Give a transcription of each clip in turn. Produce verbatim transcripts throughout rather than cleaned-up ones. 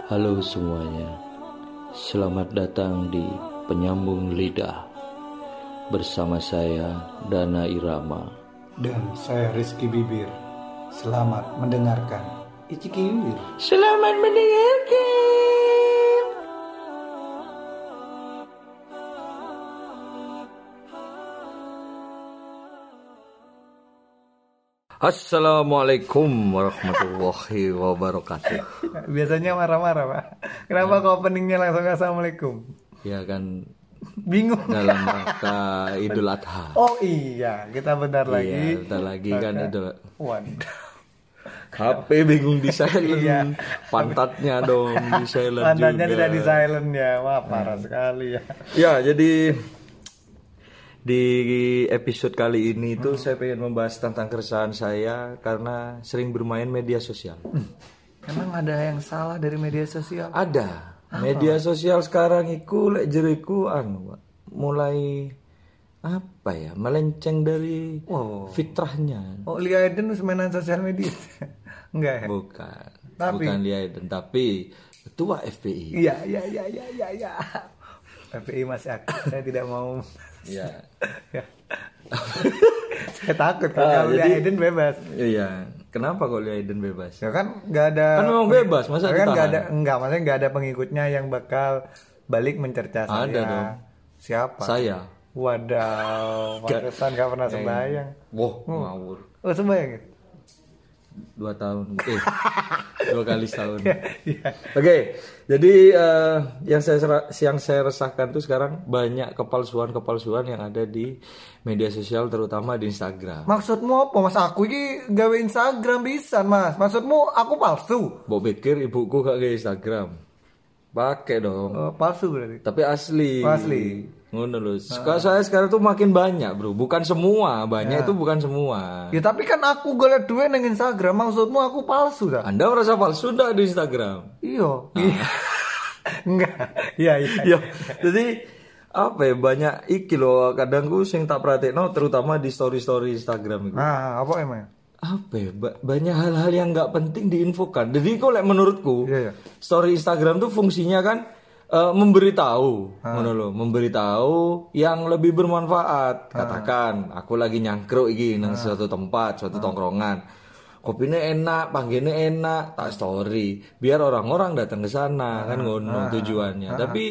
Halo semuanya, selamat datang di Penyambung Lidah. Bersama saya Dana Irama dan saya Rizky Bibir. Selamat mendengarkan. Iciki Bibir. Selamat mendengarkan. Assalamualaikum warahmatullahi wabarakatuh. Biasanya marah-marah, Pak. Kenapa kok openingnya langsung assalamualaikum? Ya kan Bingung. dalam rangka Idul Adha. Oh iya, kita bentar lagi. Iya, bentar lagi kan Idul. Waduh. H P bingung di silent. Iya. Pantatnya dong di silent Pantatnya juga. tidak di silent ya. Wah, parah sekali ya. Ya, jadi di episode kali ini tuh hmm. saya pengen membahas tentang keresahan saya karena sering bermain media sosial. Hmm. Emang ada yang salah dari media sosial? Ada. Apa? Media sosial sekarang iku lek jeriku anu, Pak. Mulai apa ya? Melenceng dari oh. fitrahnya. Oh, Lia Eden harus mainan sosial media. Enggak ya? Bukan. Tapi... Bukan Lia Eden, tapi ketua F P I. Iya, iya, iya, iya, iya, iya. F P I masih aktif. Saya tidak mau. Iya. Saya takut kalau ah, Lia Eden bebas. Iya. Kenapa kok Lia Eden bebas? Ya kan nggak ada. Kan memang bebas, masa kan ditahan? Nggak ada, enggak, maksudnya nggak ada pengikutnya yang bakal balik mencerca saya. Ada dong. Siapa? Saya. Wadaw, pantesan nggak pernah sembahyang. Wah, ngawur. Oh, sembahyang ya? Dua tahun, eh dua kali setahun. yeah, yeah. Oke, okay, jadi uh, yang saya yang saya resahkan tuh sekarang banyak kepalsuan-kepalsuan yang ada di media sosial, terutama di Instagram. Maksudmu apa, Mas? Aku ini gawe Instagram bisa, Mas. Maksudmu aku palsu? Mbok pikir ibuku gak gawe Instagram? Pakai dong. Oh, palsu berarti. Tapi asli. Oh, asli. Ngono lho. Nah. Saya sekarang tuh makin banyak, Bro. Bukan semua, banyak ya. Itu bukan semua. Ya tapi kan aku golek duit nang Instagram, maksudmu aku palsu dah. Anda merasa palsu ndak di Instagram? Iya. Ah. Enggak. Iya, iya. Iya. Jadi apa ya, banyak iki lho kadang ku sing tak pratekno terutama di story-story Instagram itu. Nah, apa emang? Apa ya, ba- banyak hal-hal yang nggak penting diinfokan. Jadi kok like, menurutku yeah, yeah. story Instagram tuh fungsinya kan uh, memberitahu, ah. ngono loh, memberitahu yang lebih bermanfaat. Katakan ah. aku lagi nyangkruk iki nang ah. suatu tempat, suatu ah. tongkrongan. Kopinya enak, panggilnya enak, tak story. Biar orang-orang datang ke sana, ah. kan ngono ah. tujuannya. Ah. Tapi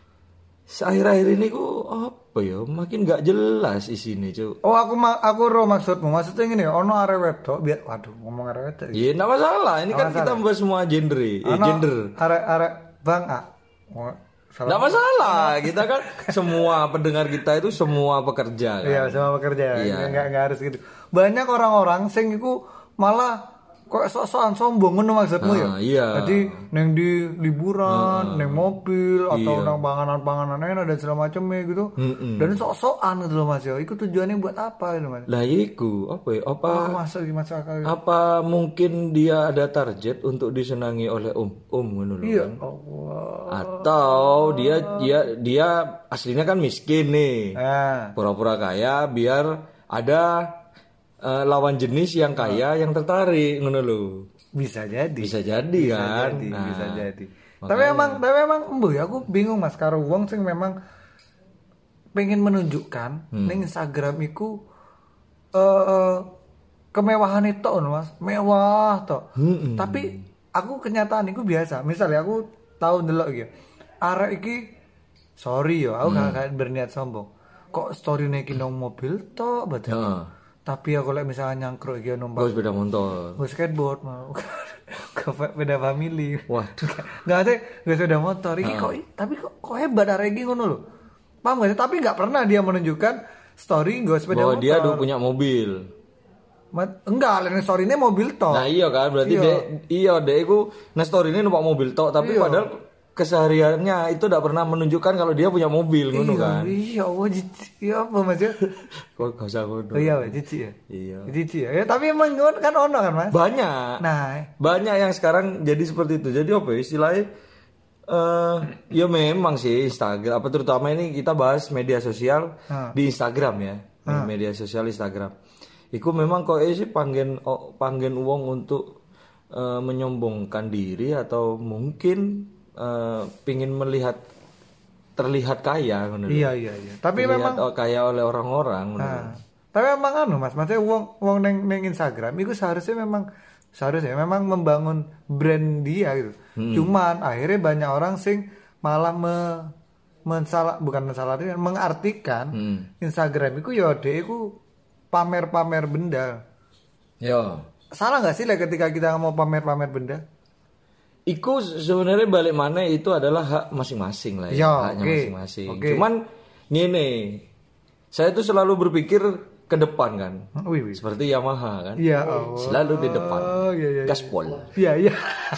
akhir-akhir ini ku apa ya, makin gak jelas isinya, Cuk. Oh, aku ma- aku ro maksudmu. Maksudnya gini, ono arek wedok biar waduh ngomong arek wedok. Iya, enggak masalah. Ini kan masalah. Kita membahas semua gender. Eh, gender. Arek-arek Bang A. Enggak masalah. Kita kan semua pendengar kita itu semua pekerja kan. Iya, semua pekerja. Iya. Enggak enggak harus gitu. Banyak orang-orang sing iku malah kok sok-sokan sombong ngono maksudmu ya? Ah, iya. Jadi neng di liburan, ah, neng mobil atau iya. nang panganan-panganan enak dan segala macamnya gitu. Mm-mm. Dan sok-sokan gitu loh Mas ya. Iku tujuannya buat apa gitu Mas? Lah iku apa ya? Apa oh, masuk masuk akal. Apa mungkin dia ada target untuk disenangi oleh um um ngono lho. Iya. Kan? Allah. Atau dia dia dia aslinya kan miskin nih. Ah. Pura-pura kaya biar ada Uh, lawan jenis yang kaya, oh. yang tertarik, ngono lho. Bisa jadi. Bisa jadi bisa kan. Jadi, nah, bisa jadi. Makanya. Tapi emang, tapi emang, embuh ya, aku bingung Mas karo wong sing memang pengen menunjukkan hmm. ning Instagram iku uh, uh, kemewahan itu Mas, mewah toh. Hmm. Tapi aku kenyataan iku biasa. Misalnya aku tahu ndelok iki. Arek iki sorry yo, aku hmm. gak berniat sombong. Kok story-ne iki nang mobil toh betul. Uh. Tapi aku like misalnya nyangkruk iki numpak sepeda motor, gue skateboard mau ke sepeda family. Waduh, nggak ada gue sepeda motor iki kok, tapi kok kok hebat arek iki ngono lho. Paham gak? Tapi nggak pernah dia menunjukkan story gue sepeda bahwa motor. Dia udah punya mobil. Mat, enggak, lain story-nya mobil tok. Nah iya kan, berarti iya. dia iya deh iku nah story-nya numpak mobil tok, tapi iya. Padahal kesehariannya itu tidak pernah menunjukkan kalau dia punya mobil ngono kan. Iya, wah iya apa Mas ya? Kok gak usah ngono. Oh iya, cici ya. Iya. Cici ya. Ya tapi emang kan ono kan Mas? Banyak. Nah, banyak yang sekarang jadi seperti itu. Jadi apa istilahnya uh, ya memang sih Instagram apa terutama ini kita bahas media sosial ha. Di Instagram ya. Ha. Media sosial Instagram. Iku memang kok sih panggen oh, panggen uang untuk uh, menyombongkan diri atau mungkin uh, pingin melihat terlihat kaya menurut. Iya iya iya. Tapi terlihat memang kaya oleh orang-orang menurut. Nah, tapi memang anu Mas, maksudnya wong wong neng neng Instagram itu seharusnya memang seharusnya memang membangun brand dia gitu. Hmm. Cuman akhirnya banyak orang sing malah me, mensalah bukan mensalahkan mengartikan hmm. Instagram itu ya dia itu pamer-pamer benda. Yo. Salah nggak sih lah ketika kita mau pamer-pamer benda? Iku sebenarnya balik mana itu adalah hak masing-masing lah ya, ya haknya okay. masing-masing. Okay. Cuman gini, saya tuh selalu berpikir ke depan kan, wih, wih. seperti Yamaha kan, ya, oh. selalu di depan, oh, iya, iya, gaspol, iya iya,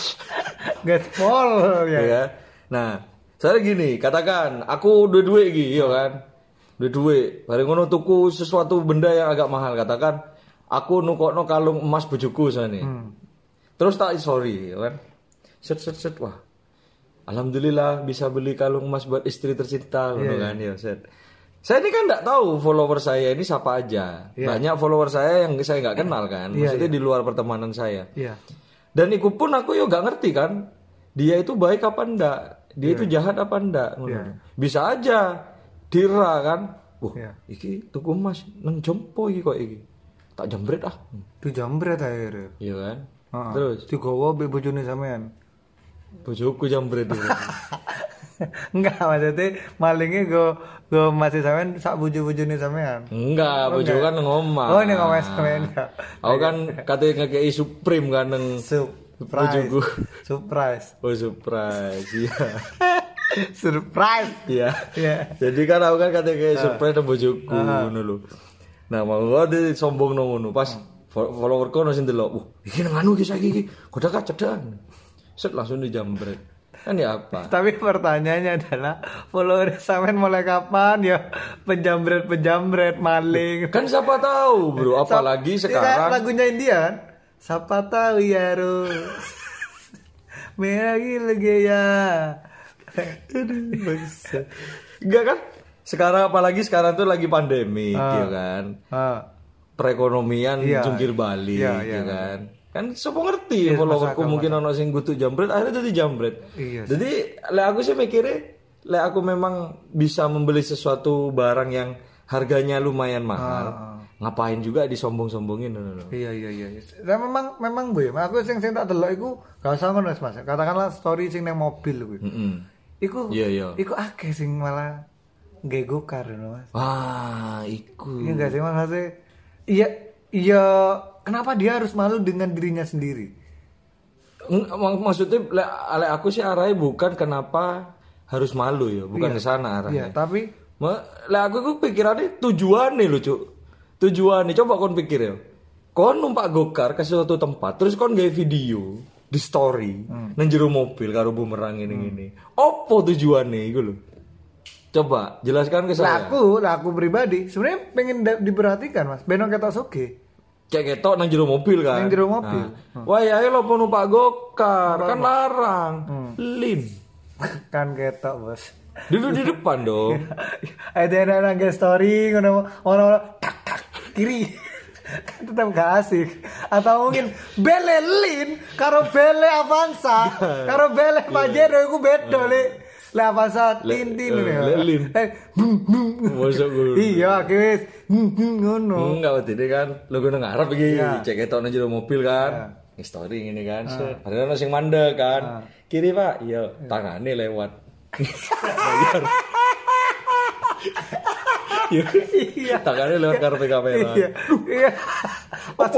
gaspol, ya. ya. Nah, saya gini, katakan aku dua-dua gitu, ya kan, dua-dua, bareng ngono tuku sesuatu benda yang agak mahal, katakan aku nukokno kalung emas bojoku sana, hmm. terus tak sorry, ya kan, set set set, wah, alhamdulillah bisa beli kalung emas buat istri tercinta, yeah, kan, ya set. Saya ini kan nggak tahu follower saya ini siapa aja. Yeah. Banyak follower saya yang saya nggak kenal kan. Maksudnya yeah, yeah. di luar pertemanan saya. Yeah. Dan ikut pun aku ya nggak ngerti kan. Dia itu baik apa enggak. Dia yeah. itu jahat apa enggak. Yeah. Bisa aja dira kan. Wah, yeah. iki tuku emas nang jompo iki kok iki. Tak jambret ah. Di jambret akhirnya. Iya kan. Uh-huh. Terus digowo be bojone sampean. Bojoku jambret itu. Enggak, maksudnya malingnya gue gue masih sampean sak bojo-bojone sampean. Enggak, oh, bojo kan ngomong. Oh, ini ngomong sampean. Aku kan katanya ngekei Supreme kan nang bojoku. Surprise. Oh, surprise. Iya. Surprise. Iya. Iya. Jadi kan aku kan katanya kayak surprise nang bojoku ngono lho. Nah, mau gua sombong nang ngono pas followerku ono sing delok. Wah, iki nang anu iki saiki iki. Kodak cedan. Set langsung dijambret. Kan ya apa? Tapi pertanyaannya adalah follower sampean mulai kapan ya penjambret-penjambret maling? Kan siapa tahu, Bro, apalagi Sa- sekarang lagunya India kan? Siapa tahu ya, Ros. Meragi lagi ya. Enggak kan? Sekarang apalagi sekarang tuh lagi pandemi, ah. gitu kan? Ah. Perekonomian iya, jungkir balik, iya, gitu iya, kan? Kan siapa ngerti iya, followerku mungkin ono sing gutuk jambret akhirnya jadi jambret. Iya, jadi lek aku sih mikirnya lek aku memang bisa membeli sesuatu barang yang harganya lumayan mahal, ah. ngapain juga disombong-sombongin no, no. Iya iya iya. Dan memang memang gue, aku sing sing tak delok iku gak usah ngono Mas. Katakanlah story sing nang mobil kuwi. Heeh. Iku iya iya. Iku akeh sing malah nggae gokar no, Mas. Wah, iku. Iya enggak sih Mas? Maksudnya, iya iya kenapa dia harus malu dengan dirinya sendiri? Maksudnya lek aku sih arahnya bukan kenapa harus malu ya, bukan iya, ke sana arahnya. Iya, tapi lek aku ku pikirannya tujuannya lho, Cuk. Tujuannya coba kon pikir ya. Kon numpak gokar ke suatu tempat, terus kon gawe video di story hmm. nang jero mobil karo bumerang ngene-ngene. Hmm. Opo tujuannya iku lho? Coba jelaskan ke saya. Aku, aku pribadi sebenarnya pengen da- diperhatikan, Mas. Benong ketok soge. Kayak ketok nang jero mobil kan. Nang jero mobil. Nah. Hmm. Wah, ya lo numpak gokar, kan larang. Hmm. Lin. Kan ketok, Bos. Duduk di depan dong. Ada nang story ngono ono tak tak kiri. Kan tetap gak asik. Atau mungkin bele Lin karo bele Avanza, karo bele Pajero iku beda, Lek. Le Avanza tintin ya. Le Lin. Eh, mosok ngono. Iya, wis ngono. Enggak berarti kan logo nang ngarep iki cek ketok nang jero mobil kan. Story ngene kan. Padahal ono sing mandek kan. Kiri, Pak. Iya, tangane lewat. Bayar. Iya, tangannya lewat kartu kamera. Iya. Iya. Apa?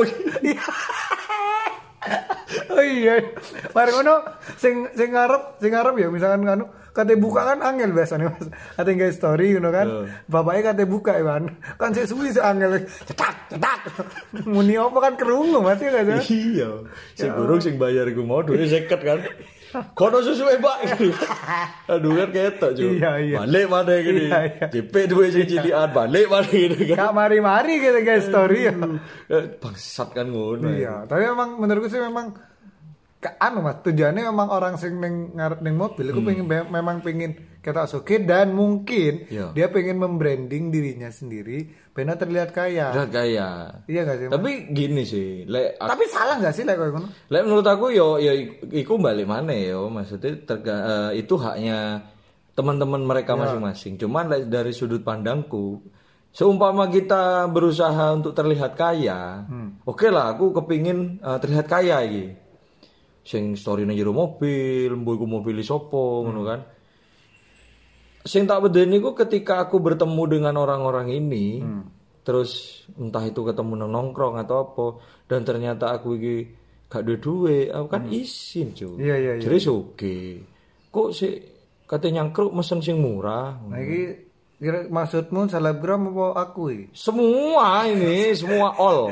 Oh iya. Mari ngono sing sing ngarep, sing ngarep ya misalkan anu kate buka kan angel biasanya Mas. Kate nge story ngono kan. Uh. Bapaknya kate buka ya kan. Kan sik suwi sik angel. Cetak, cetak. Muni apa kan kerungu mati enggak sih? Iya. Sing burung sing bayar iku mau duwe seket kan. Kono susu e, Pak. Aduh kan ketok, Cuk. Iya, iya. Balik mana gini. Iya, iya. Cepet duwe sing cilian, balik mana gini kan. Gak mari-mari gitu guys story ya. Bangsat kan ngono. Iya, tapi memang menurutku sih memang ke anu Mas, tujuannya memang orang sing ning ngarep ning mobil iku Hmm. pengen be- memang pengen ketok sugih dan mungkin Iya. dia pengen membranding dirinya sendiri benar terlihat kaya. Udah kaya. Iya gak sih? Mas? Tapi gini sih, lek Tapi salah gak sih lek koyo ngono? lek menurut aku yo yo iku balik mana yo, maksudnya terga, eh, itu haknya teman-teman mereka masing-masing. Cuman lek dari sudut pandangku, seumpama kita berusaha untuk terlihat kaya, oke lah aku kepingin eh, terlihat kaya iki. Sing story nang jero mobil, mbok iku mobil sopo ngono kan. Sing tak bedeni ku ketika aku bertemu dengan orang-orang ini, terus entah itu ketemu nang nongkrong atau apa, dan ternyata aku iki gak duwe duit, aku kan izin cuy. Iya, iya, iya. Jadi oke. Kok sih katanya nyangkruk mesen sing murah? Nah iki kira maksudmu selebgram apa aku iki? Semua ini, semua all.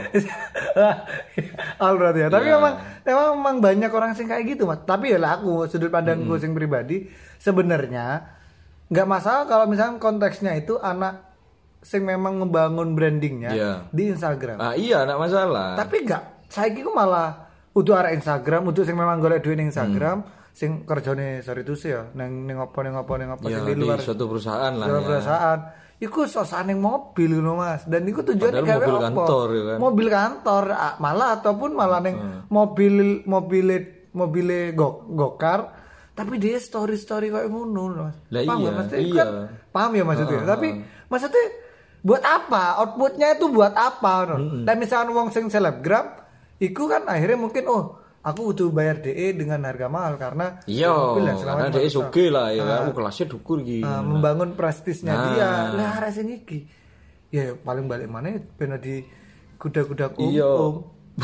Al berarti ya. Tapi Iya. memang, memang memang banyak orang sing kayak gitu Mas. Tapi ya lah aku sudut pandangku sing pribadi sebenarnya nggak masalah kalau misalnya konteksnya itu anak sing memang ngebangun brandingnya Iya. di Instagram. Ah iya, enggak masalah. Tapi nggak, saiki ku malah udah arah Instagram, udah sing memang golek duit ning Instagram, sing kerjane sorry tuh sih ya, neng neng apa neng apa neng apa ya, sing di di luar suatu perusahaan lah Dalam ya. perasaan. Iku sosane mobil ngono Mas. Dan iku tujuannya Padahal gawe mobil apa? kantor, ya kan? Mobil kantor ah, malah ataupun malah ning mobil mobil mobil go, gokar tapi dia story-story kayak ngono loh. Mas. Lah Paham iya, nggak, maksudnya? iya. Kan, paham ya maksudnya. Tapi maksudnya buat apa? Outputnya itu buat apa? No? Dan misalkan wong sing selebgram iku kan akhirnya mungkin oh aku butuh bayar D E dengan harga mahal karena Iya, mobil dan segala karena macam. dia suge lah ya kan. Oh, kelasnya dukur gitu. Nah, membangun prestisnya Nah. dia. Lah arek sing iki. Ya paling balik mana bener di kuda-kuda Iya. om.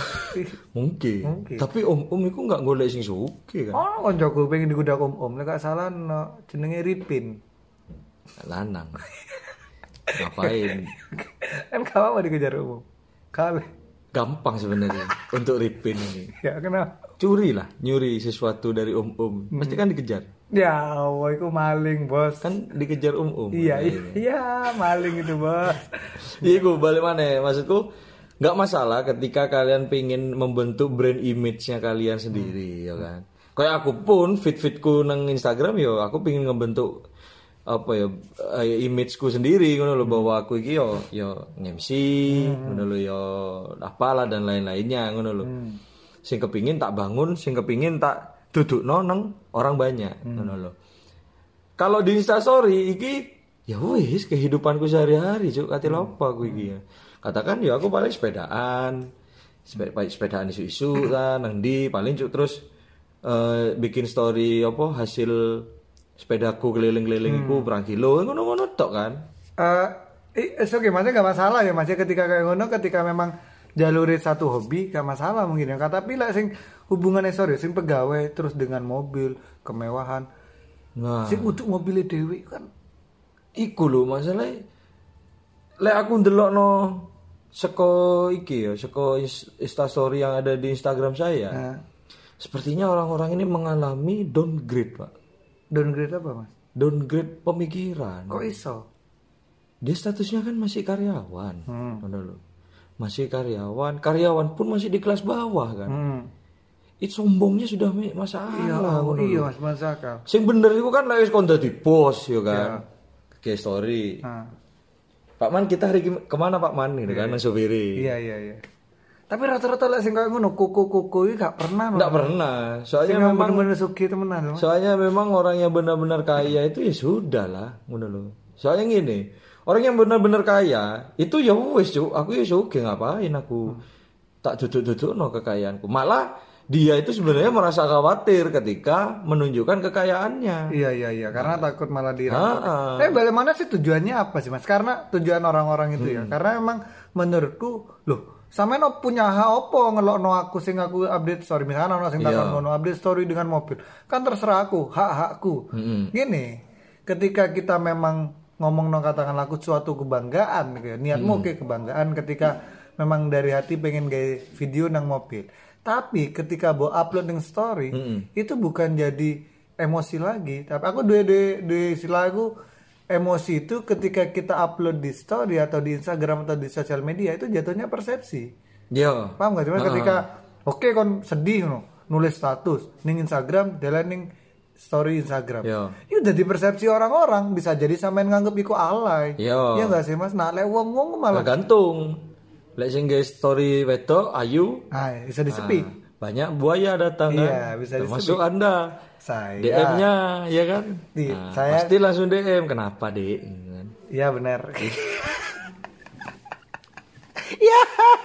Mungkin. Mungkin. Tapi om-om itu nggak golek sing suge kan. Oh, koncoku pengen di kuda om-om. Nek gak salah no, jenenge Ripin. Lanang. Ngapain? Kan kamu mau dikejar umum. Kali. Gampang sebenarnya untuk Ripin ini. Ya kenapa? Curi lah, nyuri sesuatu dari om-om. Pasti kan dikejar. Ya Allah, itu maling bos. Kan dikejar om-om. Iya, iya, iya, maling itu bos. Iya, gue balik mana ya? Maksudku nggak masalah ketika kalian pengen membentuk brand image-nya kalian sendiri, ya kan. Kayak aku pun fit-fitku nang Instagram yo, aku pengen ngebentuk apa ya eh, imageku sendiri ngono lho bahwa aku iki yo yo M C ngono lho yo apalah dan lain-lainnya ngono lho. Sing kepingin tak bangun, sing kepingin tak dudukno nang orang banyak ngono lho. Kalau di Instastory iki ya wis kehidupanku sehari-hari cuk kate apa aku iki ya. Katakan ya aku paling sepedaan. Sepeda sepedaan isu-isu kan nang ndi paling cuk terus eh, bikin story apa hasil sepedaku keliling-keliling iku berang kilo ngono-ngono tok kan. Eh, uh, oke, maksudnya gak masalah ya, maksudnya ketika kayak ngono, ketika memang jaluri satu hobi gak masalah mungkin ya. Tapi lah sing hubungannya sorry, sing pegawai terus dengan mobil kemewahan, Nah, sing untuk mobilnya dewi kan. iku lho masalahnya. Lek aku ndelokno seko iki ya, seko Instastory yang ada di Instagram saya. Nah, Sepertinya orang-orang ini mengalami downgrade, Pak. downgrade apa mas? Downgrade pemikiran. Kok iso? Dia statusnya kan masih karyawan. Hmm. Ngono lho. Masih karyawan, karyawan pun masih di kelas bawah kan. Hmm. Itu sombongnya sudah me- masalah. Iya, oh, ngono iya lho. mas masuk akal. Sing bener iku kan lek wis kon dadi bos ya kan. Ke story. Nah, Pak Man kita hari ke- kemana Pak Man gitu kan nang supiri. iya iya iya. Tapi rata-rata lah sing kayak ngono kuku-kuku ini gak pernah. Enggak pernah. Soalnya Sing memang bener-bener sugih temenan loh. soalnya memang orang yang benar-benar kaya itu ya sudah lah, ngono lho. Soalnya gini, orang yang benar-benar kaya itu ya wis Cuk, aku ya sugih ngapain aku tak duduk-dudukno kekayaanku. Malah dia itu sebenarnya merasa khawatir ketika menunjukkan kekayaannya. Iya iya iya, karena takut malah Ah, dirampok. ah. Tapi bagaimana sih tujuannya apa sih mas? Karena tujuan orang-orang itu ya, karena emang menurutku loh. Sama no punya hak opo ngelokno aku sing aku update story misalkan ono sing takon ngono update story dengan mobil kan terserah aku hak hakku gini ketika kita memang ngomong no katakanlah aku suatu kebanggaan gitu ya. Niatmu oke kebanggaan ketika memang dari hati pengen gaya video nang mobil tapi ketika mau upload nang story itu bukan jadi emosi lagi tapi aku dua dua dua istilah aku emosi itu ketika kita upload di story atau di Instagram atau di sosial media itu jatuhnya persepsi. Iya. Paham gak? Cuma ketika oke kon sedih no. nulis status ning Instagram, delete ning story Instagram. Yo. Itu udah di persepsi orang-orang, bisa jadi sampean nganggep iku alay. Yo. Iya enggak sih Mas? Nah, lek wong-wong malah Tergantung. Lek sing nge story wedok ayu, ah, bisa disepi. ah, banyak buaya datang Iya, kan. bisa Termasuk disepi. Anda. Saya D M-nya ya kan? Di- Nah, saya- pasti langsung D M. Kenapa, Dek? Kan? Iya benar. Ya.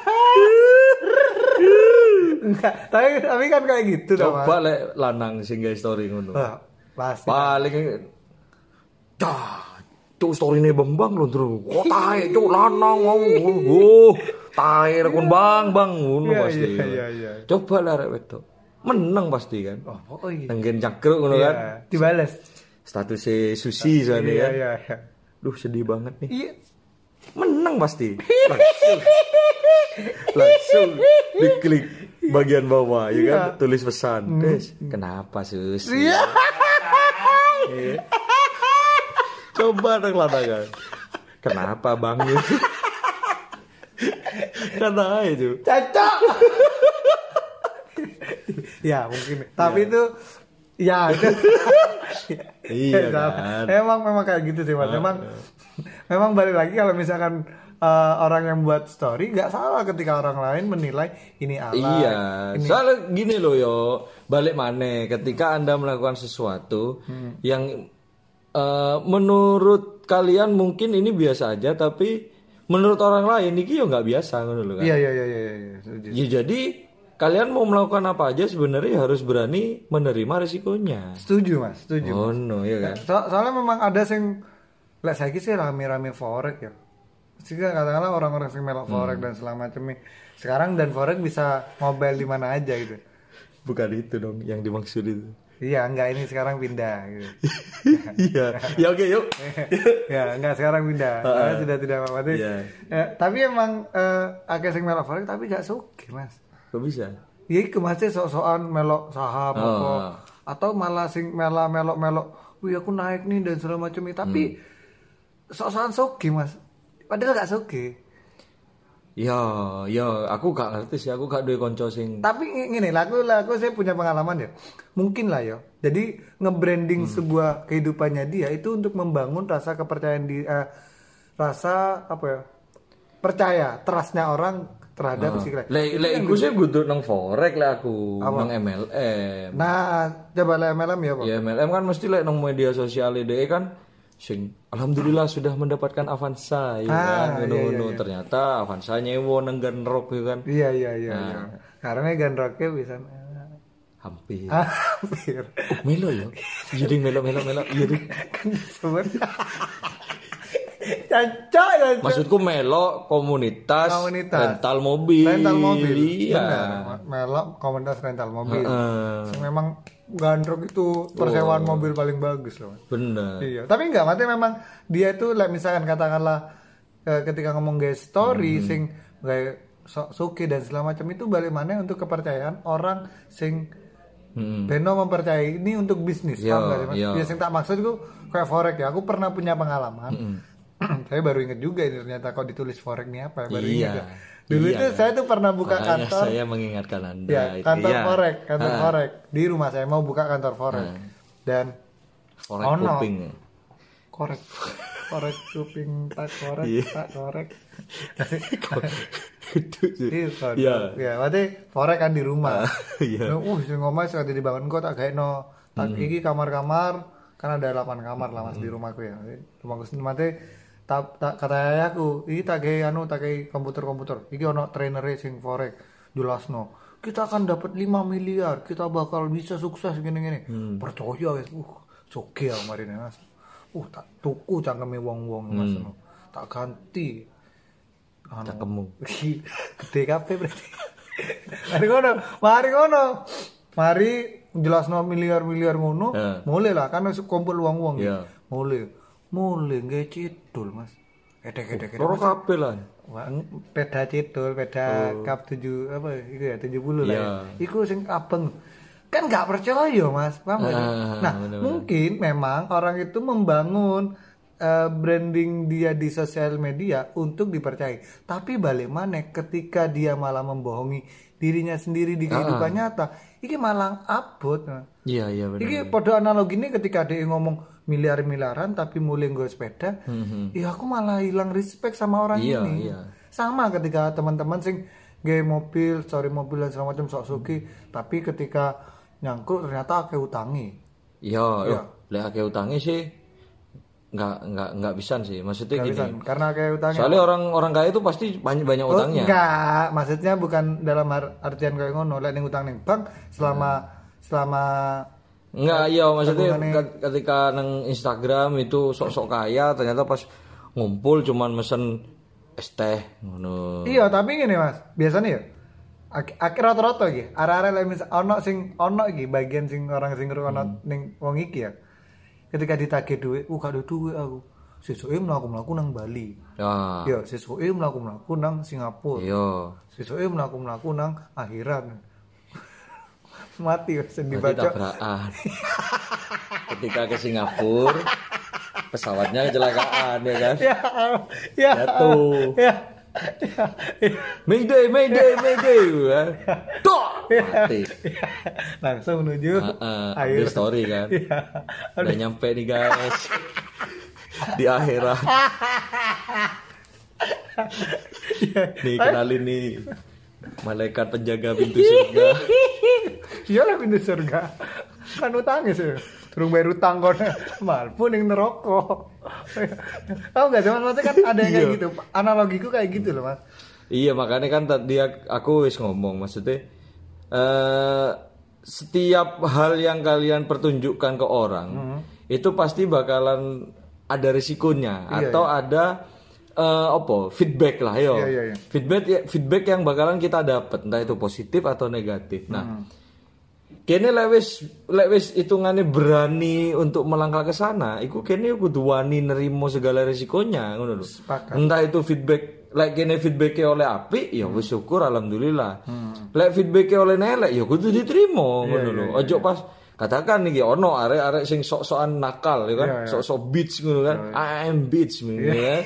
Enggak, tapi tapi kan kayak gitu toh, Mas. Coba lek lanang sing nge story ngono. Wah, pasti. Paling dah cuk story-ne Bambang lho, Bro. Kok tae cuk lanang mau. Oh, tae rekon Bang, Bang ngono Iya, pasti. iya, iya, iya. Coba lah arek wedok. Menang pasti kan. Oh, oh iya. Tenggen cakruk ngono Iya, kan. dibales. Statusnya Susi soalnya Iya, kan. iya, iya. Duh sedih banget nih. Iya. Menang pasti. Langsung, langsung diklik bagian bawah ya kan, tulis pesan. Des, kenapa Susi? Iya. Iya. Coba dong lanangan. Kenapa Bang? Kata itu. Cocok. Ya, mungkin. Tapi itu ya itu. Iya Nah, kan. Emang memang kayak gitu sih, Mas. Memang memang balik lagi kalau misalkan eh, orang yang buat story nggak salah ketika orang lain menilai ini alay. Iya, ini soalnya gini loh yo, balik mana ketika Anda melakukan sesuatu yang eh, menurut kalian mungkin ini biasa aja, tapi menurut orang lain ini yo nggak biasa ngono loh kan. Iya, iya, iya, iya, iya. Setuju. Ya, jadi kalian mau melakukan apa aja sebenarnya harus berani menerima risikonya. Setuju, Mas. Setuju. Oh no, ya kan. So- soalnya memang ada sing lek saiki sih rame-rame forex ya. Sehingga katakanlah orang-orang sing melok forex dan segala macamnya. Sekarang dan forex bisa mobile di mana aja gitu. Bukan itu dong yang dimaksud itu. Iya, enggak ini sekarang pindah gitu. Iya, ya oke yuk. Ya, enggak sekarang pindah. Karena sudah tidak apa-apa. Iya. Eh, tapi emang eh akeh sing melok forex tapi gak sugih, Mas. Kok bisa? Ya iku masih sok-sokan melok saham Oh. apa atau malah sing mela melok-melok, "Wih, aku naik nih" dan segala macam itu. Tapi sok-sokan sugih, Mas. Padahal gak sugih. Ya, ya, aku gak ngerti sih, aku gak duwe konco sing. Tapi ng- ngene lah, aku lah aku saya punya pengalaman ya. Mungkin lah ya. Jadi nge-branding sebuah kehidupannya dia itu untuk membangun rasa kepercayaan di eh, rasa apa ya? Percaya, trustnya orang terhadap si klien. Lek lek iku sih butuh nang forex lah aku, Apa? nang M L M. Nah, coba lah M L M ya, Pak. Ya M L M kan mesti lek nang media sosial deh kan sing alhamdulillah sudah mendapatkan Avanza ya Ah, kan iya, ngono-ngono. iya, iya. Ternyata Avanza nyewo nang Genrok ya kan. Iya, iya, iya, Nah. iya. Karena gandroknya bisa Hampir. hampir. Oh, melo ya. Jadi melo melo melo. Iya deh. Kan disebut. Cocok, cocok. Maksudku melo komunitas, Komunitas. rental mobil. Rental mobil. Iya. Benar. Melok komunitas rental mobil. Heeh. Yang memang gandrok itu persewaan mobil paling bagus loh. Bener. Iya, tapi enggak, maksudnya memang dia itu like, misalkan katakanlah eh, ketika ngomong guys story Hmm. sing kayak so, suki dan segala macam itu balik mana untuk kepercayaan orang sing Hmm. Beno mempercayai ini untuk bisnis, Iya, paham nggak sih, Mas? iya. Ya sing tak maksud itu kayak forex ya. Aku pernah punya pengalaman. Hmm. Saya baru inget juga ini ternyata kok ditulis forex ini apa ya, baru Iya. inget ya. Dulu Iya. itu saya tuh pernah buka Makanya kantor. saya mengingatkan Anda. Ya, itu. kantor Iya. forex, kantor Ah, forex. Di rumah saya mau buka kantor forex. Dan Forex Oh, no. kuping. korek korek kuping tak korek Iya. tak korek. Gitu sih. Iya, kan. Iya. Ya, berarti forex kan di rumah. Iya. Nah, uh, sing ngomong sekali dibangun kok tak gaekno. Tak iki kamar-kamar, kan ada delapan kamar lah Mas di rumahku ya. Rumahku sendiri mate tak tak kata ayahku, iki tak gawe anu tak gawe komputer-komputer. Iki ono trainer sing forex jelasno. Kita akan dapat lima miliar, kita bakal bisa sukses gini-gini. Percaya wis. Uh, joge aku mari Mas. Uh, tak tuku cangkeme wong-wong Mas. Tak ganti. Anu, Cangkemmu. gede kabeh berarti. Mari ngono, mari ngono. Mari jelasno miliar-miliar ngono, Ya. mulai lah kan wis kumpul wong-wong. Ya. Mulai. Mulai nggak cidul, Mas. Edek-edek. Loro kabeh lah. Wah, peda cidul, peda kap tujuh apa itu ya tujuh puluh lah. Iya. Ya. Iku sing abeng. Kan nggak percaya, Mas. Paham nggak sih? Ah, Nah, bener-bener. mungkin memang orang itu membangun uh, branding dia di sosial media untuk dipercayai. Tapi balik mana ketika dia malah membohongi dirinya sendiri di kehidupan ah. nyata, iki malah abot. Iya iya benar. Iki pada analogi ini ketika dia ngomong miliar-miliaran tapi mulai gue sepeda, mm-hmm. ya aku malah hilang respect sama orang iya, ini. Iya. Sama ketika teman-teman sing gay mobil, story mobil dan segala macam sok suki, hmm. tapi ketika nyangkruk ternyata akeh utangi. Iya, ya. Lek akeh utangi sih nggak nggak nggak bisa sih. Maksudnya nggak gini. Bisan. Karena akeh utangi. Soalnya orang orang kaya itu pasti banyak banyak oh, utangnya. Enggak, maksudnya bukan dalam artian kayak ngono. Lek ning utang ning bank selama hmm. selama enggak, iya maksudnya ketika nang Instagram itu sok-sok kaya ternyata pas ngumpul cuman mesen es teh ngono. Iya, tapi gini Mas, biasanya ya akhir rata-rata iki, arek-arek lek misal ono sing ono iki bagian sing orang sing ngrungokno hmm. ning wong iki ya. Ketika ditagih duit, uh gak ada duit aku. Sesuke mlaku-mlaku nang Bali. Ya. Yo, sesuke mlaku-mlaku nang Singapura. Iya. Sesuke mlaku-mlaku nang akhirat. Mati sedih baca. Ketika ke Singapura pesawatnya kecelakaan ya kan? Ya, ya. Jatuh. Ya. Ya, ya. Mayday, Mayday, Mayday. Tok. Mati. Ya. Langsung menuju uh, uh, akhir story kan. Ya. Udah nyampe nih guys. Di akhirat. Ya. Nih kenalin nih. Malaikat penjaga pintu surga. Iyalah pintu surga. Kan utangnya sih. Turun bayar utang kon. Malpun yang neraka. Tahu enggak cuman maksudnya kan ada yang kayak gitu. Analogiku kayak gitu loh, Mas. Iya, makanya kan tadi aku wis ngomong maksudnya uh, setiap hal yang kalian pertunjukkan ke orang mm-hmm. itu pasti bakalan ada risikonya iya, atau iya. ada Uh, apa feedback lah yo yeah, yeah, yeah. feedback feedback yang bakalan kita dapat entah itu positif atau negatif. Nah, hmm. kene lewis lewis hitungane berani untuk melangkah ke sana, iku kene kudu wani nerimo segala risikonya ngono lho. Entah itu feedback like kene feedbacknya oleh apik ya wis syukur alhamdulillah. Hmm. Lek feedbacknya oleh nelek ya kudu diterima ngono yeah, lho. Yeah, yeah, Ojo pas katakan nih ono arek-arek sing sok-sokan nakal ya kan, yeah, yeah. sok-sok beach ngono kan. Yeah, yeah. I am beach ngono yeah. ya.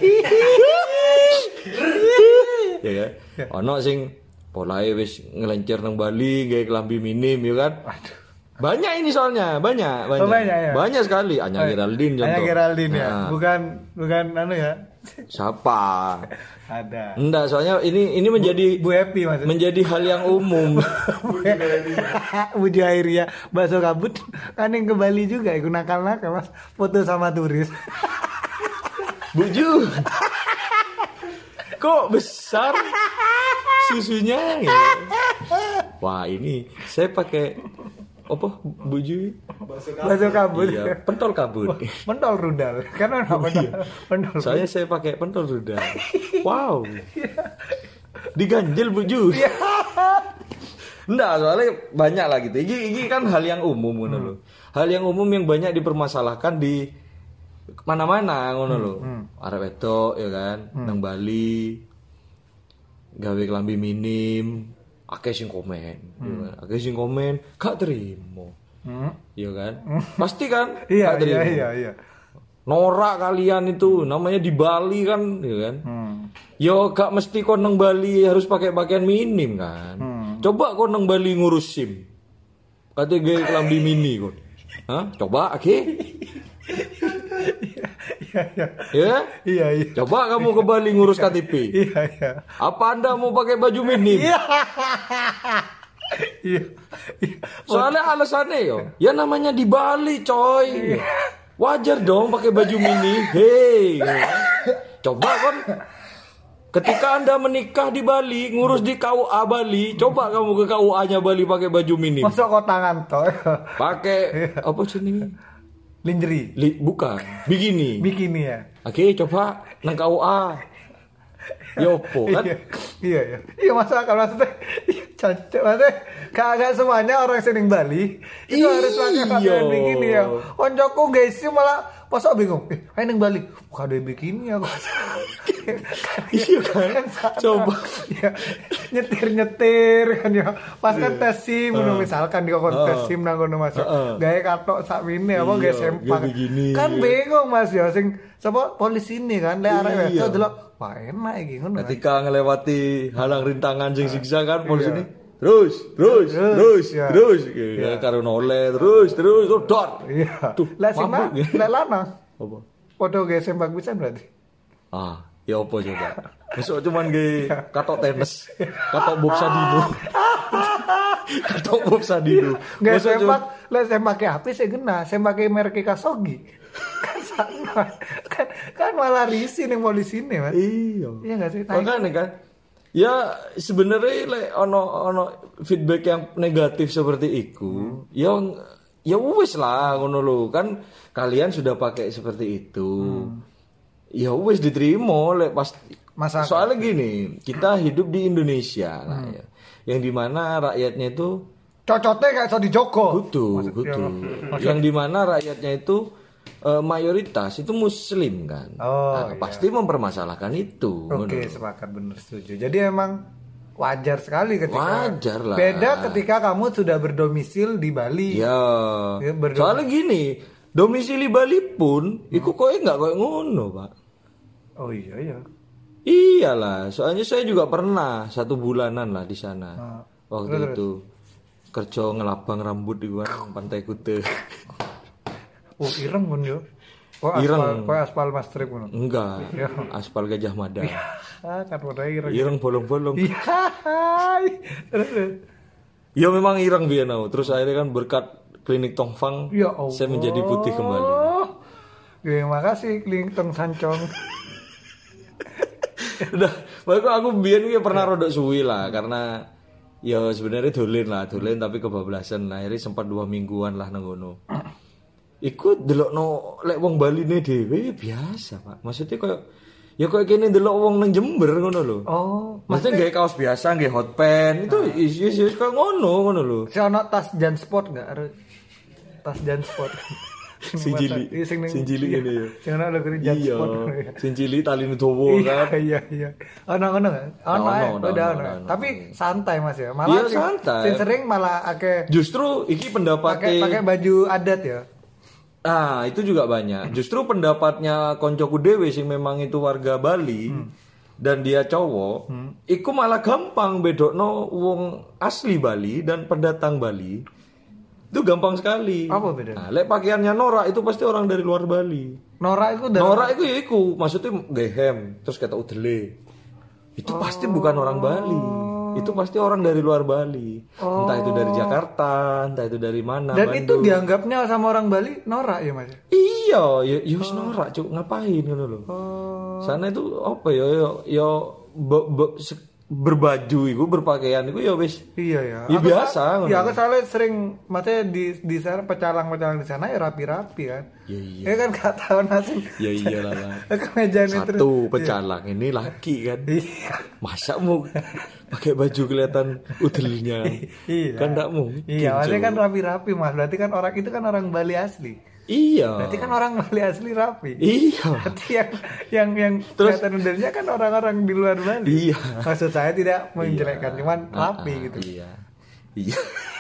Ya kan. Yeah. Ono sing polahe wis ngelencir nang Bali gawe kelambi minim ya kan. Aduh. Banyak ini soalnya, banyak, banyak. Oh, banyak, ya? Banyak sekali. Anya Geraldine contoh. Anya Geraldine ya. Nah. Bukan bukan anu ya. Siapa? Ada. Enggak, soalnya ini ini menjadi Bu, Bu Happy maksudnya. Menjadi hal yang umum. Bu Jairia, bakso kabut kan yang ke Bali juga ikut nakal-nakal Mas. Foto sama turis. Buju. Kok besar susunya ya? Wah, ini saya pakai apa buju bakso kabut iya, pentol kabut pentol rudal karena apa iya. pentol saya saya pakai pentol rudal wow diganjel buju enggak soalnya banyak lah gitu ini, ini kan hal yang umum ngono hmm. loh hal yang umum yang banyak dipermasalahkan di mana-mana ngono hmm. loh hmm. arek wedok ya kan hmm. nang Bali gawe kelambi minim akeh sing komen, hmm. akeh sing komen, gak terima, hmm. iya kan? Hmm. Pasti kan, iya, gak terima. Iya, iya, iya. Norak kalian itu, namanya di Bali kan, iya kan? Hmm. Yo gak mesti kau nang Bali harus pakai pakaian minim kan? Hmm. Coba kau nang Bali ngurus SIM, katanya gaya kelambi mini kau, hah? Coba, oke? Okay? Iya, iya. Ya? Iya, iya. Coba kamu ke Bali ngurus K T P. Iya, iya. Apa Anda mau pakai baju minim? Iya. Iya. Soalnya alasannya yo, ya namanya di Bali, coy. Iya. Wajar dong pakai baju mini. Hei. Coba kan ketika Anda menikah di Bali, ngurus di K U A Bali, coba kamu ke K U A-nya Bali pakai baju minim. Masuk kok tangan toh. Pakai apa sih ini? Lingerie. Li, bukan, bikini. Bikini ya. Oke, coba nang K U A. Yopo kan? Iya, iya, iya. Iya masa kalau maksudnya, cancok maksudnya, kagak semuanya orang sering Bali itu iya. harus pakai pakaian bikini ya. Koncoku guys sih malah pasok bingung. Eh, ayo nang Bali, kok ada bikini aku. Iya kan? Coba. Ya, nyetir-nyetir kan ya. Pas kan tes SIM ngono misalkan di kon tes SIM nang ngono Mas. Gawe katok sak mene apa gawe sempak. Kan bingung Mas ya sing sapa polisi ini kan lek arek wedok delok wah enak iki ngono. Ketika ngelewati halang rintangan sing siksa kan polisi ini terus terus terus terus karo noleh terus terus dor. Iya. Lek sing lek lanang apa? Padha gawe sempak pisan berarti. Ah, ya apa coba? Besok cuman ge katok tenis, katok bob sadino. Katok bob sadino. Gak sempak, lek sempake api sing kena, sempake merek Kasogi. Kan sama. Kan kan malah risi ning polisi ne, Mas. Iya. Iya enggak sih? Makanya kan ya sebenarnya lek ono ono feedback yang negatif seperti itu, hmm. ya ya wis lah ngono lho. Kan kalian sudah pakai seperti itu. Hmm. Ya wis diterima lek pas masalah. Soalnya gini, kita hidup di Indonesia lah hmm. ya. Yang dimana rakyatnya itu cocotnya kayak so di Joko. Betul, betul. Yang dimana rakyatnya itu uh, mayoritas itu muslim kan. Oh, nah, iya. Pasti mempermasalahkan itu. Oke, okay, sepakat benar setuju. Jadi emang wajar sekali ketika wajar lah. Beda ketika kamu sudah berdomisil di Bali. Ya. ya Soalnya gini, domisili Bali pun hmm. iku koe enggak koe ngono, Pak. Oh iya iya. Iyalah, soalnya saya juga pernah satu bulanan lah di sana. Nah, waktu terus, itu kerja ngelabang rambut di mana Pantai Kute. Oh, ireng pun yo. Oh, ireng. Aspal, aspal Mas Trip ngono. Enggak. Aspal Gajah Mada. Ah, kan udah ireng. Ireng bolong-bolong. Iya. Ya memang ireng biyen aku. Terus akhirnya kan berkat klinik Tongfang ya saya menjadi putih kembali. Terima kasih klinik Tong Sancong. Udah, makanya aku biyen iki pernah rodok suwi lah karena ya sebenarnya dolen lah, dolen tapi kebablasan. Nah, akhirnya sempat dua mingguan lah nang ngono. Iku delokno lek wong Bali ne dhewe biasa, Pak. Maksudnya koyo ya koyo kene delok wong nang Jember ngono lho. Oh, maksudnya gawe kaos biasa, gawe hot pants itu is is koyo ngono ngono lho. Si ono tas Jansport enggak? Tas Jansport. Sinjili, sinjili ini ya. Sing ana lho kene Jansport. Sinjili tali dawa kan. Iya iya. Ono ngono kan? Ono, udah ono. Tapi santai Mas ya. Malah sing sering malah akeh. Justru iki pendapatnya pakai baju adat ya. Ah, itu juga banyak. Justru pendapatnya koncoku dhewe sing memang itu warga Bali hmm. dan dia cowok, hmm. iku malah gampang bedokno wong asli Bali dan pendatang Bali. Itu gampang sekali. Apa bedanya? Nah, lek pakaiannya norak itu pasti orang dari luar Bali. Norak itu dari Norak itu ya iku, maksudnya gehem, terus kata udele. Itu oh. pasti bukan orang Bali. Itu pasti orang dari luar Bali. Oh. Entah itu dari Jakarta, entah itu dari mana. Dan Bandung. itu dianggapnya sama orang Bali norak ya, Mas? Iya, ya yus oh. norak, Cuk. Ngapain ngono lho. Oh. Sana itu apa ya ya ya be, be, berbaju itu berpakaian itu ya wis. Iya ya. Ya biasa ngono. Ya aku soalnya sering maksudnya di di sana pecalang-pecalang di sana ya rapi-rapi kan. Iya iya. Ya kan gak tahu nasi. Ya iyalah lah. Satu terus. pecalang iya. Ini laki kan. Iya. Masa mau pakai baju kelihatan udelnya. Iya. Kan enggak mungkin. Iya, maksudnya kan rapi-rapi Mas. Berarti kan orang itu kan orang Bali asli. Iya. Berarti kan orang Bali asli rapi. Iya. Berarti yang yang yang kelihatan udelnya kan orang-orang di luar Bali. Iya. Maksud saya tidak menjelekkan, iya. cuman rapi uh, gitu. Iya. Iya.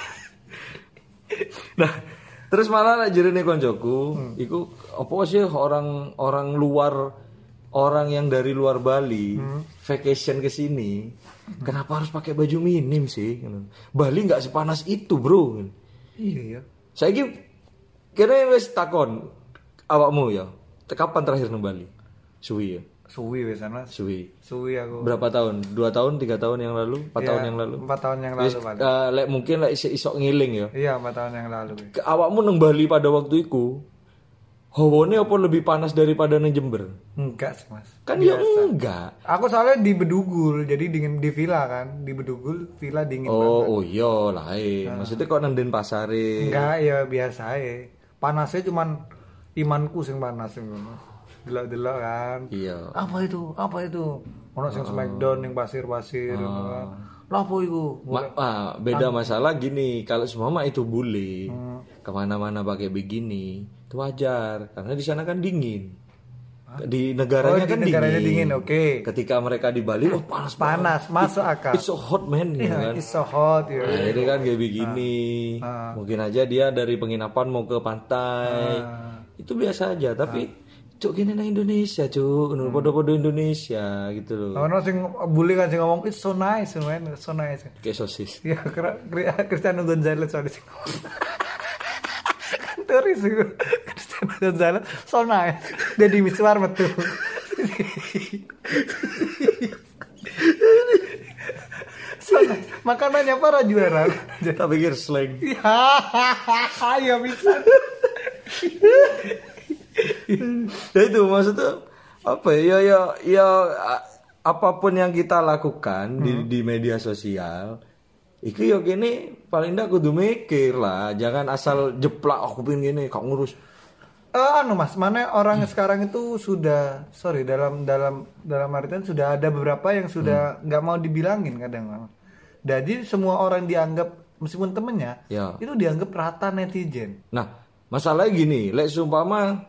Nah, terus malah jerene koncoku, hmm. iku apa sih orang orang luar orang yang dari luar Bali hmm. vacation ke sini, hmm. kenapa harus pakai baju minim sih? Bali nggak sepanas itu, Bro. Iya ya. Saiki kene wis takon awakmu ya. Kapan terakhir nang Bali? Suwi ya. Suwi wis ana. Suwi. Suwi aku. Berapa tahun? Dua tahun, tiga tahun yang lalu, empat ya, tahun yang lalu. Empat tahun yang lalu, Pak. Uh, lek mungkin lek isok ngiling ya. Iya, empat tahun yang lalu. Ke, awakmu nang Bali pada waktu itu, hawane apa lebih panas daripada nang Jember? Enggak sih, Mas. Kan biasa. Ya enggak. Aku soalnya di Bedugul, jadi dingin di villa kan. Di Bedugul villa dingin oh, banget. Oh, iya lain. Nah. Maksudnya kok nang Denpasar? Enggak, ya biasa aja. Panasnya cuman imanku sing panas ngono. Delok-delok kan. Iya. Apa itu? Apa itu? Ono sing oh. Smackdown ning pasir-pasir oh. gitu kan. Lah apa iku? Ma- ah, beda An- masalah gini, kalau semua mah itu boleh. Hmm. Kemana-mana pakai begini, itu wajar karena di sana kan dingin. di negaranya Oh, di kan negaranya dingin. dingin, oke. Ketika mereka di Bali, oh panas Panas, banget. masuk akal. It's so hot man, gitu Iya, kan. it's so hot ya. Nah, jadi kan kayak begini. Ah. Mungkin aja dia dari penginapan mau ke pantai. Ah. Itu biasa aja, tapi cuk gini nang Indonesia, cuk. Hmm. Podo-podo Indonesia gitu loh. Ono sing bully kan sing ngomong it's so nice, man, it's so nice. Kayak sosis. Ya, kira Cristiano Gonzalez soalnya sing ngomong. Kantor itu Cristiano Gonzalez so nice. Jadi miswar metu. So nice. Makanannya para juara. Tak pikir slang. Ya, ya bisa. Ya itu maksudnya apa ya ya ya a- apapun yang kita lakukan di di media sosial itu ya gini paling ndak kudu mikir lah, jangan asal jeplak aku pengen gini kau ngurus. Eh, anu mas, mana orang sekarang itu sudah sorry dalam dalam dalam artian sudah ada beberapa yang sudah nggak mau dibilangin kadang. Jadi semua orang dianggap meskipun temennya Ya. itu dianggap rata netizen. Nah masalahnya gini, lek sumpama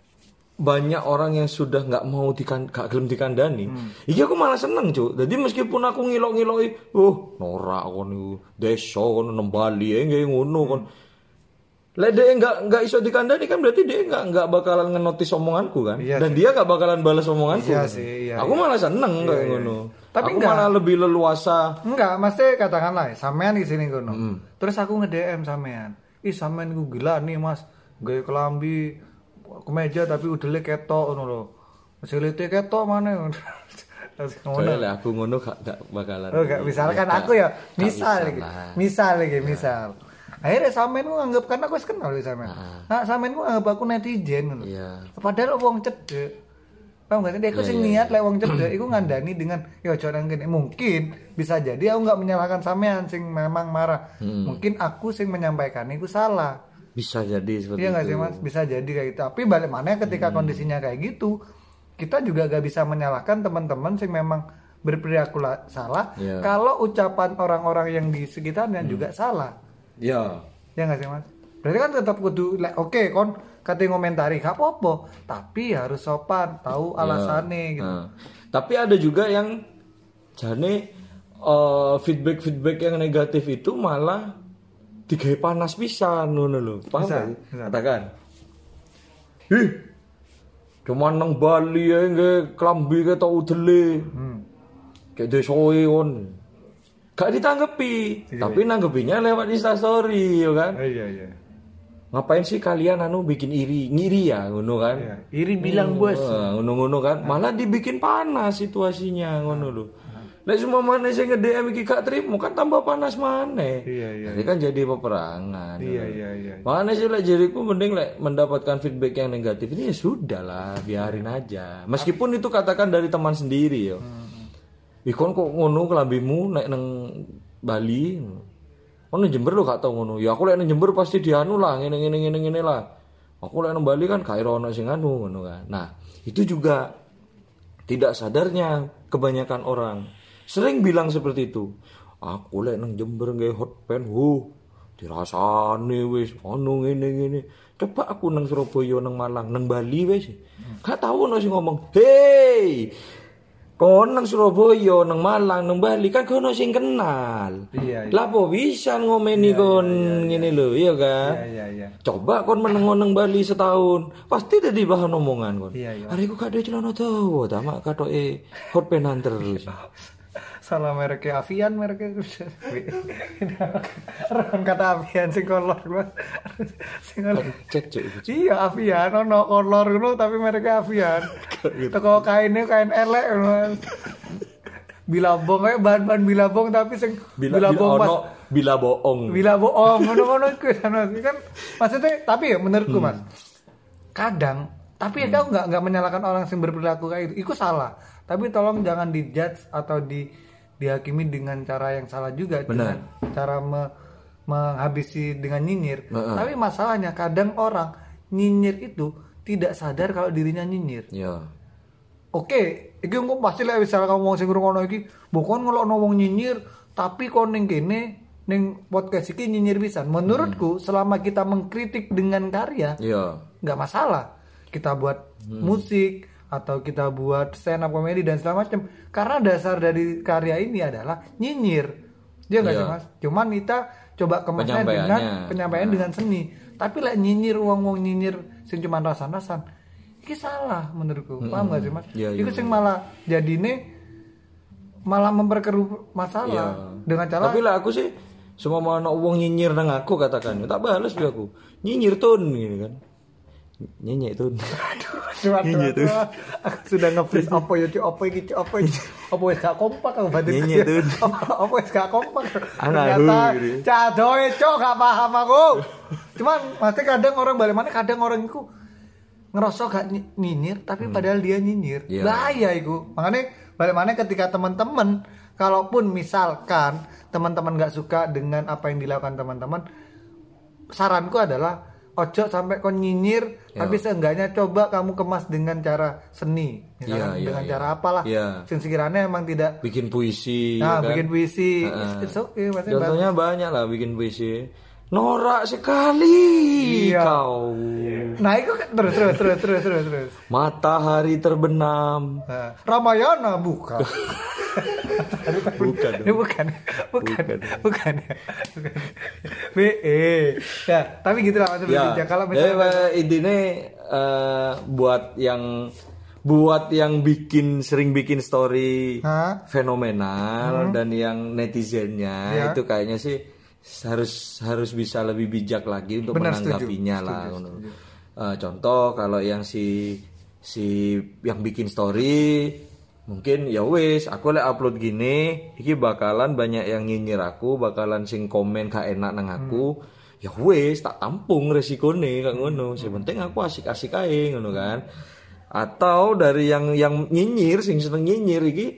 banyak orang yang sudah nggak mau dikan gak gelem dikandani. Hmm. Iki aku malah seneng, Cuk. Jadi meskipun aku ngilok-ngiloki, oh, norak kon niku, desa kon nang Bali ya nggih ngono kon. Lek dia nggak nggak iso dikandani kan berarti dia nggak nggak bakalan ngenotis omonganku kan. Iya Dan dia nggak bakalan balas omonganku. Iya kan? sih, iya, aku iya. malah seneng Iya, kayak iya. ngono. Tapi aku enggak. malah lebih leluasa. Enggak, maksudnya katakanlah sampean di sini kono. Mm. Terus aku nge-D M sampean. Ih, sampean ku gila nih, Mas. Gawe kelambi kemeja tapi udele ketok ngono lho. Silite ketok mana? Terus ngono. Soalnya aku ngono gak, gak bakalan. Oh, enggak misalkan Gak- aku ya, gak misal bisa lagi. lah. Misal lagi, misal. Akhirnya sampean ku nganggep kan aku wis kenal wis sampean. Ah. Nah, sampean ku nganggep aku netizen ngono. Iya. Padahal wong cedek. Paham gak sih? Dia aku Iya, sing iya, niat lek wong cedek iku ngandani dengan ya aja nang kene. Mungkin bisa jadi aku nggak menyalahkan sampean sing memang marah. Hmm. Mungkin aku sing menyampaikan itu salah. Bisa jadi seperti Iya nggak itu. sih Mas? Bisa jadi kayak gitu. Tapi balik mana ketika kondisinya kayak gitu, kita juga gak bisa menyalahkan teman-teman sing memang berperilaku la- salah. Iya. Kalau ucapan orang-orang yang di sekitarnya juga salah. Ya. Ya nggak sih Mas? Berarti kan tetap kudu like, oke kon kate ngomentari gak apa-apa, tapi harus sopan, tahu alasannya Ya. gitu. Nah, tapi ada juga yang jane eh, feedback-feedback yang negatif itu malah digawe panas pisan ngono lho. Paham Bisa, gak sih? bisa. Katakan. Ih. Cuman nang Bali ya nggih klambi ketok udele. Hmm. Kayak desoe kon. Gak ditanggepi, Iya, tapi nanggepinya lewat Instastory ya kan. Iya iya. Ngapain sih kalian anu bikin iri, ngiri ya ngono kan? Iya. Iri bilang bos. Wah, ngono-ngono kan, malah dibikin panas situasinya ngono lho. Lek semua mana sing nge-D M iki gak trimo kan tambah panas maneh. Iya iya. Jadi kan jadi peperangan. Iya iya iya. Makanya sih lek jadiku mending lek mendapatkan feedback yang negatif ini ya sudah lah, biarin aja. Meskipun itu katakan dari teman sendiri ya. Ih kon kok ngono kelambimu nek nang Bali. Kon nang Jember lo gak tau ngono. Ya aku lek nang Jember pasti dianu lah, ngene ngene ngene ngene lah. Aku lek nang Bali kan gak ono sing anu ngono kan. Nah, itu juga tidak sadarnya kebanyakan orang sering bilang seperti itu. Aku lek nang Jember nggae hot pen, huh, dirasane wis ono ngene ngene. Coba aku nang Surabaya, nang Malang, nang Bali wis. Gak tau ono sing ngomong, "Hei, kon nang Surabaya, nang Malang, nang Bali kan kono sing kenal." Iya, iya. Lah apa bisa ngomeni kon ngene lho, iya kan? Iya iya iya. Coba kon meneng nang Bali setahun, pasti dadi bahan omongan kon. Iya, iya. Hari ku gak ada celana dawa, ta mak katoke hot penan terus. Salah mereknya Avian mereknya. Orang kata Avian sing kolor Mas. Sing kolor. Cek cuk. Iya Avian ono kolor ngono tapi mereknya Avian. Teko kainnya kain elek ngono. Bilabong kayak bahan-bahan bilabong tapi sing Bila bilabong bila Mas. ono bila bohong. Bila bohong ngono-ngono iku kan maksudnya tapi ya menurutku Mas. Kadang tapi ya aku nggak nggak menyalahkan orang yang berperilaku kayak itu. Itu salah. Tapi tolong jangan dijudge atau di dihakimi dengan cara yang salah juga. Benar. Dengan cara me- menghabisi dengan nyinyir. Heeh. Tapi masalahnya kadang orang nyinyir itu tidak sadar kalau dirinya nyinyir. Ya. Oke, iki engko pasti lek wis salah ngomong sing ngrungokno iki, bukan ngelokno wong nyinyir, tapi kon ning kene ning podcast iki nyinyir pisan. Menurutku selama kita mengkritik dengan karya Ya. nggak masalah. Kita buat musik, atau kita buat stand up comedy dan segala macam. Karena dasar dari karya ini adalah nyinyir. Dia enggak Iya. sih Mas? Cuman kita coba kemasnya dengan Penyampaiannya. penyampaian Nah. dengan seni. Tapi lah nyinyir wong-wong nyinyir sing cuman rasan-rasan. Iki salah menurutku. Paham enggak sih Mas? Iya, iya, Iku sing malah jadine malah memperkeruh masalah Iya. dengan cara Tapi lah aku sih semua mau ono wong nyinyir nang aku katakan, tak balas juga aku. Nyinyir tun gitu kan. Nyinyir tun. Cuma Nyinyir tuh. aku sudah nge-freeze apa ya Cuk, apa iki Cuk, apa iki apa wis gak kompak aku batin Nyinyir tuh. apa apa wis gak kompak Anak ternyata hu, gitu. cadoe Cuk gak paham aku cuman mesti kadang orang balik mana kadang orang itu ngerasa gak ny- nyinyir tapi padahal dia nyinyir Iya. bahaya iku makanya balik mana ketika teman-teman kalaupun misalkan teman-teman gak suka dengan apa yang dilakukan teman-teman saranku adalah ojo sampai kon nyinyir Ya. tapi seenggaknya coba kamu kemas dengan cara seni misalkan Iya, iya, dengan iya. cara apalah Iya. sing sekiranya emang tidak Bikin puisi nah kan? bikin puisi Heeh. it's okay maksudnya Contohnya banyak lah bikin puisi. Norak sekali Iya. kau. nah itu kan- terus terus terus terus terus terus Matahari terbenam. nah, Ramayana bukan Bukan. ini bukan bukan bukan bukan B E ya tapi gitu lah maksudnya Ya, kalau jadi, misalnya eh, intinya eh, buat yang buat yang bikin sering bikin story Hah? fenomenal dan yang netizennya Ya. itu kayaknya sih harus harus bisa lebih bijak lagi untuk Benar, menanggapinya setuju, lah. setuju, ngono. setuju. Eh, contoh kalau yang si si yang bikin story mungkin ya wis aku lek upload gini iki bakalan banyak yang nyinyir aku bakalan sing komen gak enak nang aku ya wis tak tampung resikone kak ngono sing penting aku asik-asik ae ngono kan atau dari yang yang nyinyir sing seneng nyinyir iki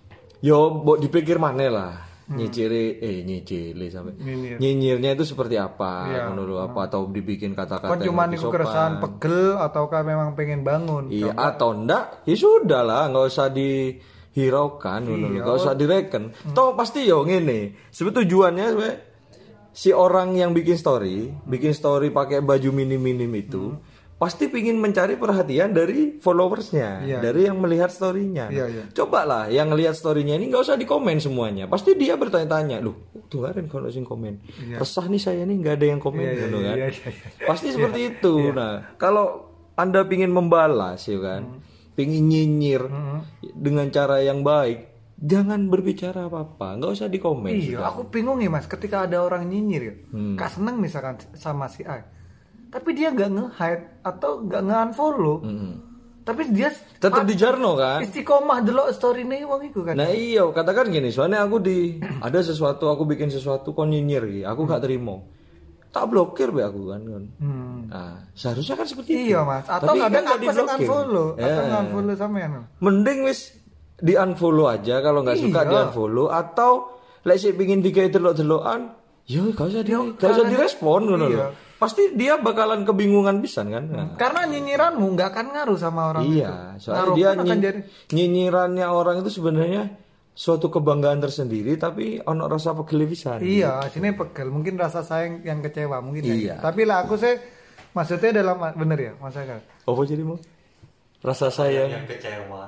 yo mbok dipikir maneh lah nyiciri eh nyicili sampai Nyinyir. nyinyirnya itu seperti apa Iya. ngono lho apa atau dibikin kata-kata kon yang cuma lebih niku sopan. keresahan pegel ataukah memang pengen bangun Iya atau enggak ya sudah lah nggak usah dihiraukan ngono lho, nggak usah direken toh pasti yo ngene sebetulnya tujuannya sebenarnya si orang yang bikin story bikin story pakai baju minim-minim itu pasti pingin mencari perhatian dari followersnya Iya. dari yang melihat storynya Iya, iya. coba lah yang ngelihat storynya ini nggak usah dikomen semuanya pasti dia bertanya-tanya loh tuh kan kalau sing komen resah nih saya nih nggak ada yang komen Iya, iya, gitu kan iya, iya, iya. pasti seperti itu nah kalau anda pingin membalas ya kan pingin nyinyir dengan cara yang baik jangan berbicara apa-apa nggak usah dikomen Iya, sudah. aku bingung ya mas. Ketika ada orang nyinyir, ya, Hmm. gak seneng misalkan sama si A, tapi dia nggak nge-hide atau nggak nge-unfollow, tapi dia tetap di jarno kan istiqomah delok story nih wong iku kan. nah iya katakan gini soalnya aku di ada sesuatu aku bikin sesuatu kok nyinyir gitu aku gak terima tak blokir be aku kan kan Hmm. nah seharusnya kan seperti itu Iya mas. Atau Tapi kadang kan nggak aku sing diblokir. unfollow, atau Ya. nge-unfollow sampean. mending wis di unfollow aja kalau nggak suka Iya. di unfollow atau lek sih pingin digawe delok-delokan yo gak usah di gak usah karena- direspon ngono iya. lho pasti dia bakalan kebingungan pisan kan nah, Karena nyinyiranmu nggak akan ngaruh sama orang itu. iya soalnya Ngaruh dia pun akan nyi- jadi nyinyirannya orang itu sebenarnya suatu kebanggaan tersendiri tapi ono rasa pegel pisan Iya, sini pegel. Mungkin rasa sayang yang kecewa mungkin. ya. Iya. Tapi lah aku sih maksudnya dalam bener ya, Mas Aga. apa jadi mau rasa sayang yang kecewa.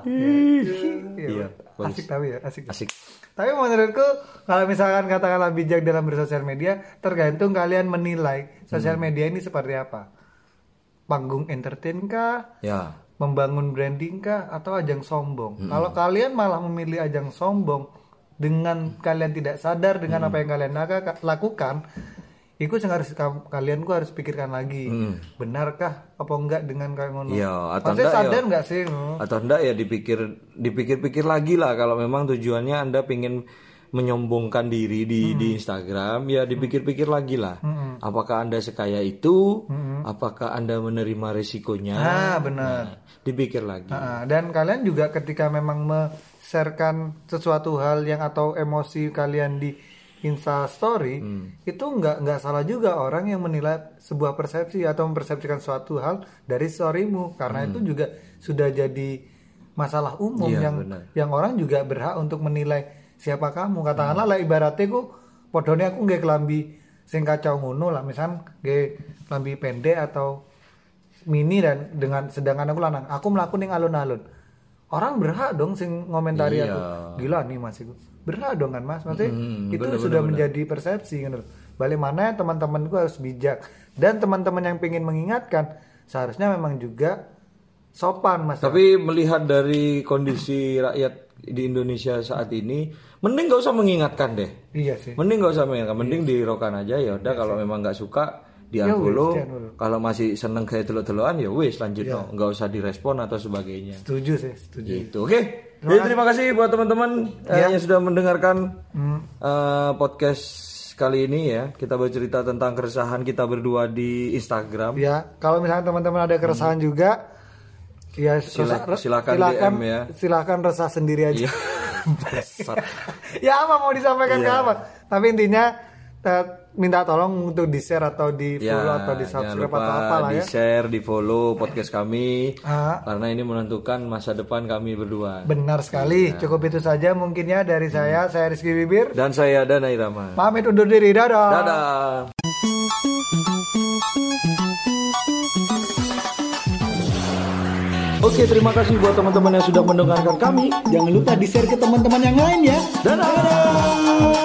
Iya, bagus. Asik tapi ya, asik. asik Tapi menurutku kalau misalkan katakanlah bijak dalam bersosial media, tergantung kalian menilai sosial Hmm. media ini seperti apa. Panggung entertain kah? ya Membangun branding kah? Atau ajang sombong? Hmm. Kalau kalian malah memilih ajang sombong dengan kalian tidak sadar dengan Hmm. apa yang kalian laga- lakukan, itu yang harus kam- kalian ku harus pikirkan lagi. Benarkah apa enggak dengan kayak ngono? Hmm. Iya, atau Maksudnya enggak, sadar ya. enggak sih? atau enggak ya dipikir dipikir-pikir lagi lah kalau memang tujuannya anda pengen menyombongkan diri di di Instagram ya dipikir-pikir lagi lah apakah anda sekaya itu apakah anda menerima risikonya Ah, benar. Nah, dipikir lagi Nah, dan kalian juga ketika memang me-sharekan sesuatu hal yang atau emosi kalian di Insta Story, itu nggak nggak salah juga orang yang menilai sebuah persepsi atau mempersepsikan suatu hal dari storymu karena itu juga sudah jadi masalah umum Iya, yang benar. yang orang juga berhak untuk menilai siapa kamu. Katakanlah lah ibaratnya ku podone aku nggak kelambi sing kacau ngono lah, misal nggak kelambi pendek atau mini dan dengan sedangkan aku lanang, aku melakukan yang alun-alun. Orang berhak dong sing ngomentari Iya. aku. Gila nih Mas iku. Berhak dong kan Mas. Maksudnya Hmm, itu bener, sudah bener, menjadi persepsi gitu. Balik mana teman-temanku harus bijak dan teman-teman yang pengen mengingatkan seharusnya memang juga sopan Mas. Tapi melihat dari kondisi rakyat di Indonesia saat ini, mending gak usah mengingatkan deh. Iya sih. Mending gak usah mengingatkan, mending dirokan aja ya udah kalau memang nggak suka di Ya wis, unfollow. di-unfollow. Kalau masih seneng kayak teluk-telukan ya wis lanjut no. nggak usah direspon atau sebagainya. Setuju sih, setuju. Gitu. Oke. Jadi terima kasih buat teman-teman eh, Ya. yang sudah mendengarkan Hmm. eh, podcast kali ini ya. Kita bercerita tentang keresahan kita berdua di Instagram. Ya, kalau misalnya teman-teman ada keresahan juga, ya Sila- resah- silakan silakan D M ya. Silakan resah sendiri aja. Iya. Bangsat. Ya apa mau disampaikan Iya. ke apa? Tapi intinya eh, minta tolong untuk di share atau di follow atau di jangan subscribe lupa atau apa lah di ya. share, di follow podcast kami Ah, karena ini menentukan masa depan kami berdua. benar sekali. Iya. Cukup itu saja mungkin ya dari saya. Saya Rizky Bibir. Dan saya Dana Irama. Pamit undur diri. Dadah. Dadah. Oke, terima kasih buat teman-teman yang sudah mendengarkan kami. Jangan lupa di share ke teman-teman yang lain ya. Dadah.